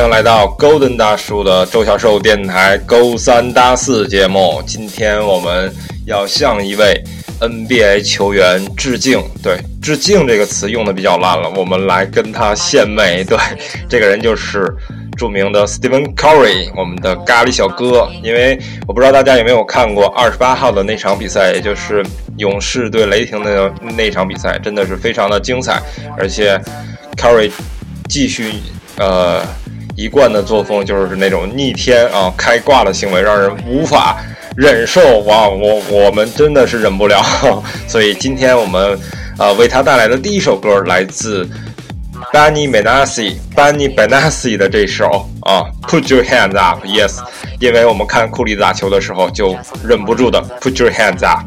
迎来到 Golden 大叔的周小寿电台勾三搭四节目。今天我们要向一位 NBA 球员致敬。对，致敬这个词用的比较烂了，我们来跟他献媚。对，这个人就是著名的 Stephen Curry， 我们的咖喱小哥。因为我不知道大家有没有看过28号的那场比赛，也就是勇士对雷霆的那场比赛，真的是非常的精彩。而且 Curry 继续一贯的作风就是那种逆天啊开挂的行为，让人无法忍受。哇，我们真的是忍不了。所以今天我们为他带来的第一首歌来自Benny Benassi 的这首Put Your Hands Up。 Yes， 因为我们看库里打球的时候就忍不住的 Put Your Hands Up。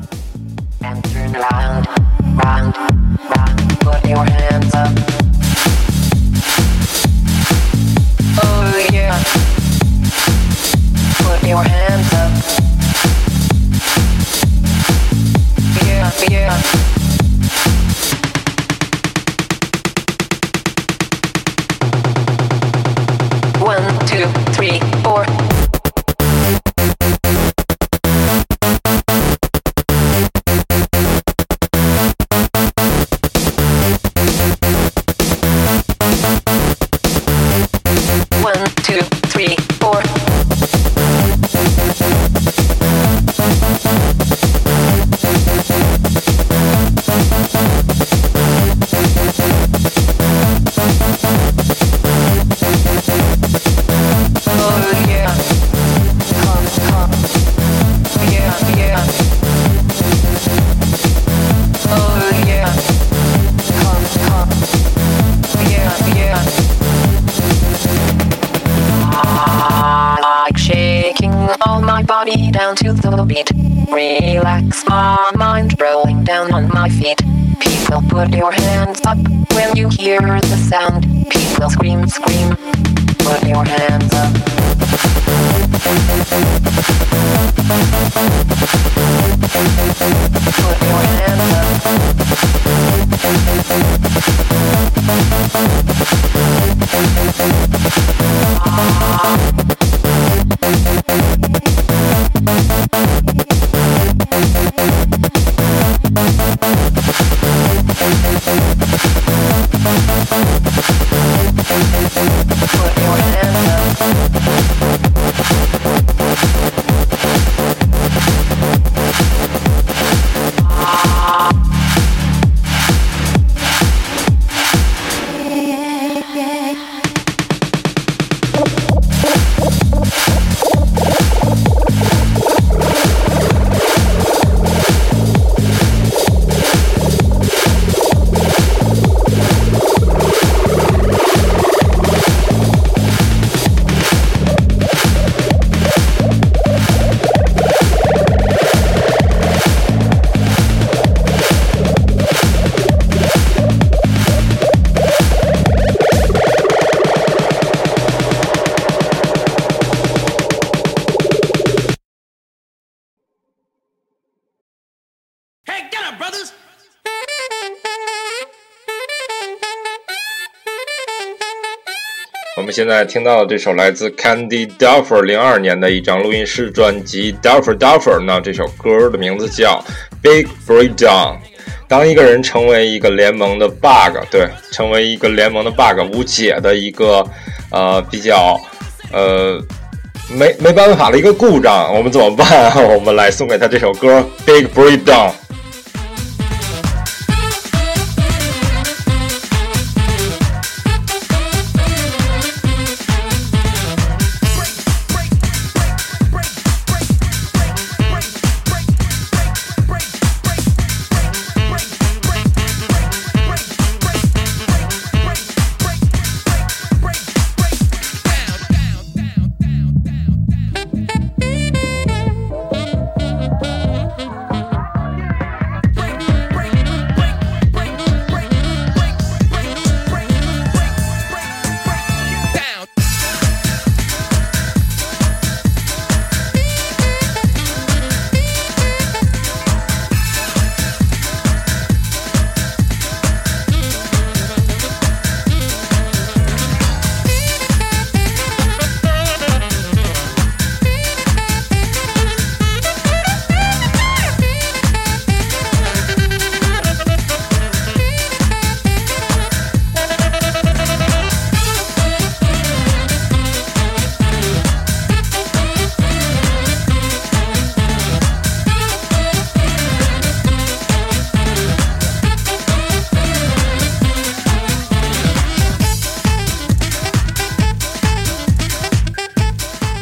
Put your hands up. Oh yeah. Put your hands up. Yeah, yeah. One, two, three, four. One, two, three, four. Oh yeah. Come. Yeah, yeah. Oh yeah. Come. Yeah, yeah. Like shaking all my body down to the beat. Relax my mind, rolling down on my feet. People, put your hands up when you hear the sound. People, scream, scream. Put your hands up. Put your hands Put your hands brothers. 我们现在听到的这首来自 Candy Dulfer 02年的一张录音室专辑 Dulfer。 那这首歌的名字叫 Big Breakdown。 当一个人成为一个联盟的 bug， 对，成为一个联盟的 bug， 无解的一个比较没办法的一个故障，我们怎么办？我们来送给他这首歌 Big Breakdown。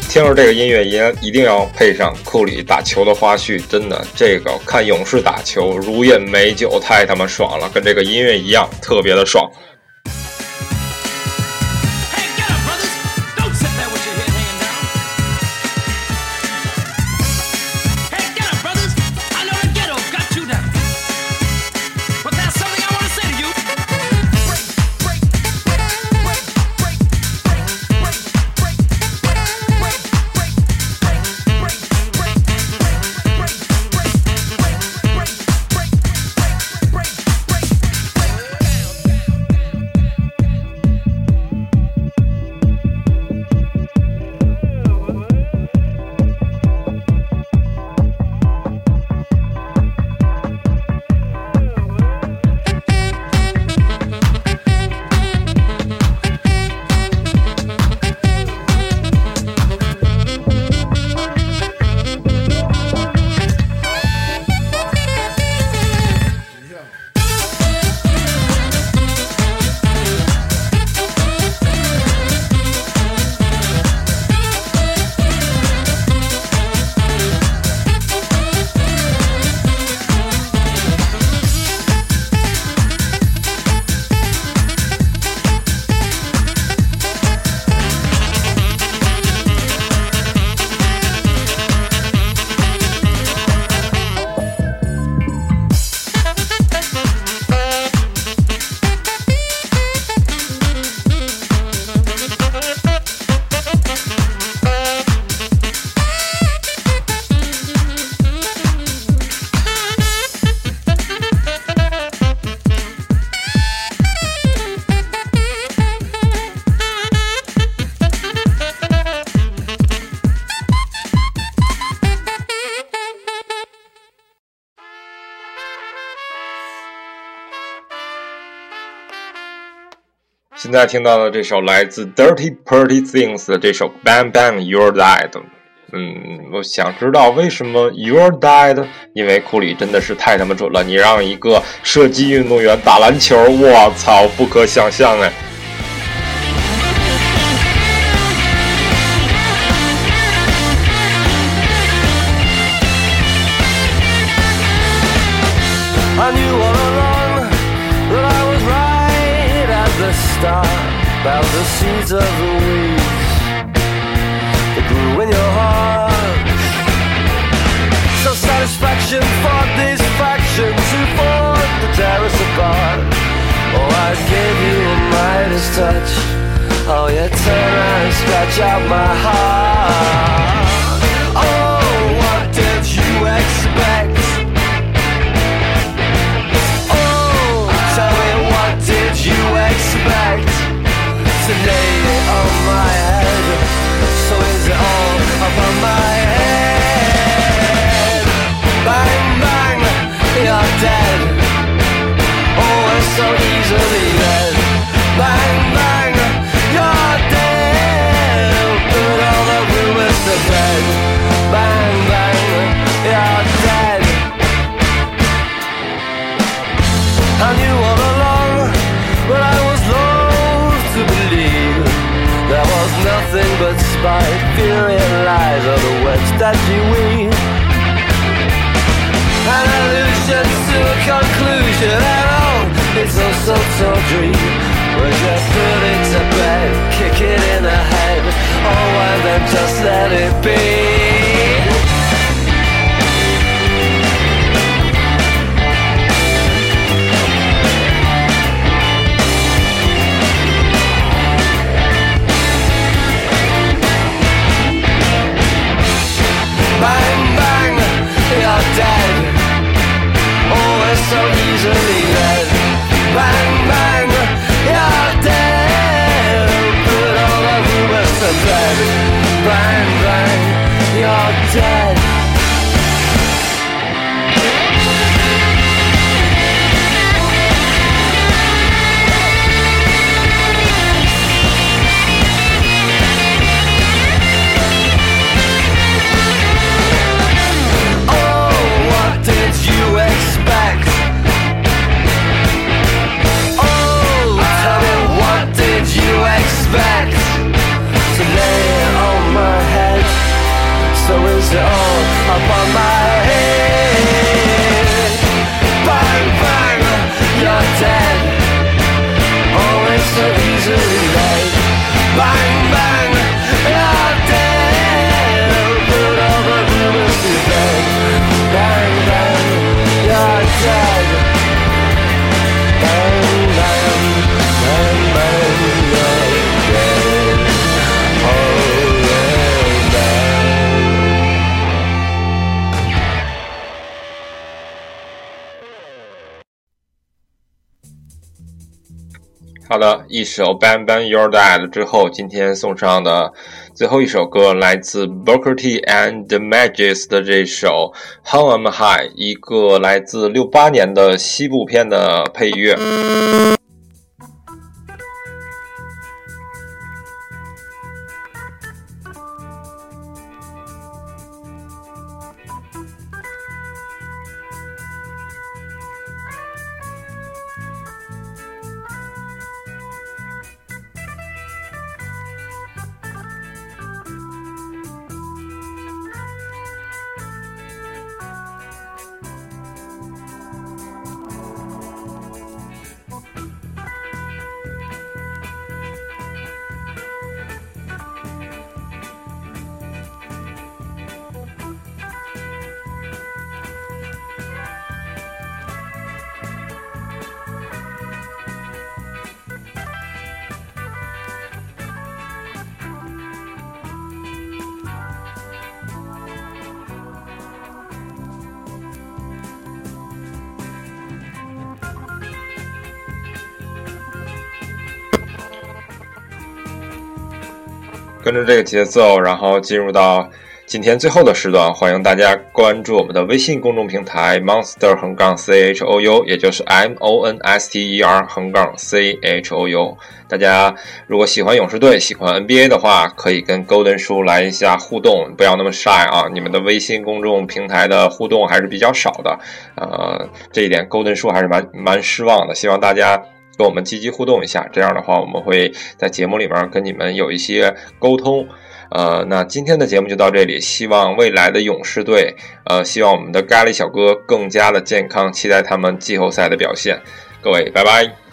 听着这个音乐也一定要配上库里打球的花絮，真的，这个看勇士打球如饮美酒，太他妈爽了，跟这个音乐一样，特别的爽。现在听到的这首来自 Dirty Pretty Things 的这首 Bang Bang You're Dead， 我想知道为什么 You're Dead， 因为库里真的是太他妈准了，你让一个射击运动员打篮球，我操，不可想象哎。 I knew all along that I was right at the start about the seeds of the weeds that grew in your heart. So satisfaction fought these factions who fought to tear us apart. Oh, I gave you a Midas touch. Oh, you turn around and scratch out my heart. Oh, what did you expect? You expect to lay it on my head? So is it all upon my head? Bang, bang, you're dead. Oh, we're so easily dead. Bang, bang, you're dead. Put all the rumors to bed. Bang, bang, you're dead. I knew all along, but I was loath to believe there was nothing but spite, fury and lies are the webs that you weave. An allusion to a conclusion, and oh, it's all so dream. We're just put it to bed, kick it in the head, oh, and then just let it be. Bang, bang, you're dead. Oh, we're so easily led. Bang, Bang, bang, you're dead. Put all the rumors to bed. Bang, bang, you're dead. Bang, bang, bang, bang, you're dead. Oh, yeah, bang. 好的，一首 Bang Bang You're Dead 之后，今天送上的最后一首歌来自 Booker T and the Magics 的这首 How Am I， 一个来自68年的西部片的配乐。跟着这个节奏，然后进入到今天最后的时段，欢迎大家关注我们的微信公众平台 monster_chou， 也就是 monster_chou。大家如果喜欢勇士队，喜欢 NBA 的话，可以跟 Golden 叔来一下互动，不要那么 shy 啊！你们的微信公众平台的互动还是比较少的，这一点 Golden 叔还是蛮失望的，希望大家跟我们积极互动一下，这样的话我们会在节目里面跟你们有一些沟通。那今天的节目就到这里，希望未来的勇士队，希望我们的咖喱小哥更加的健康，期待他们季后赛的表现。各位，拜拜。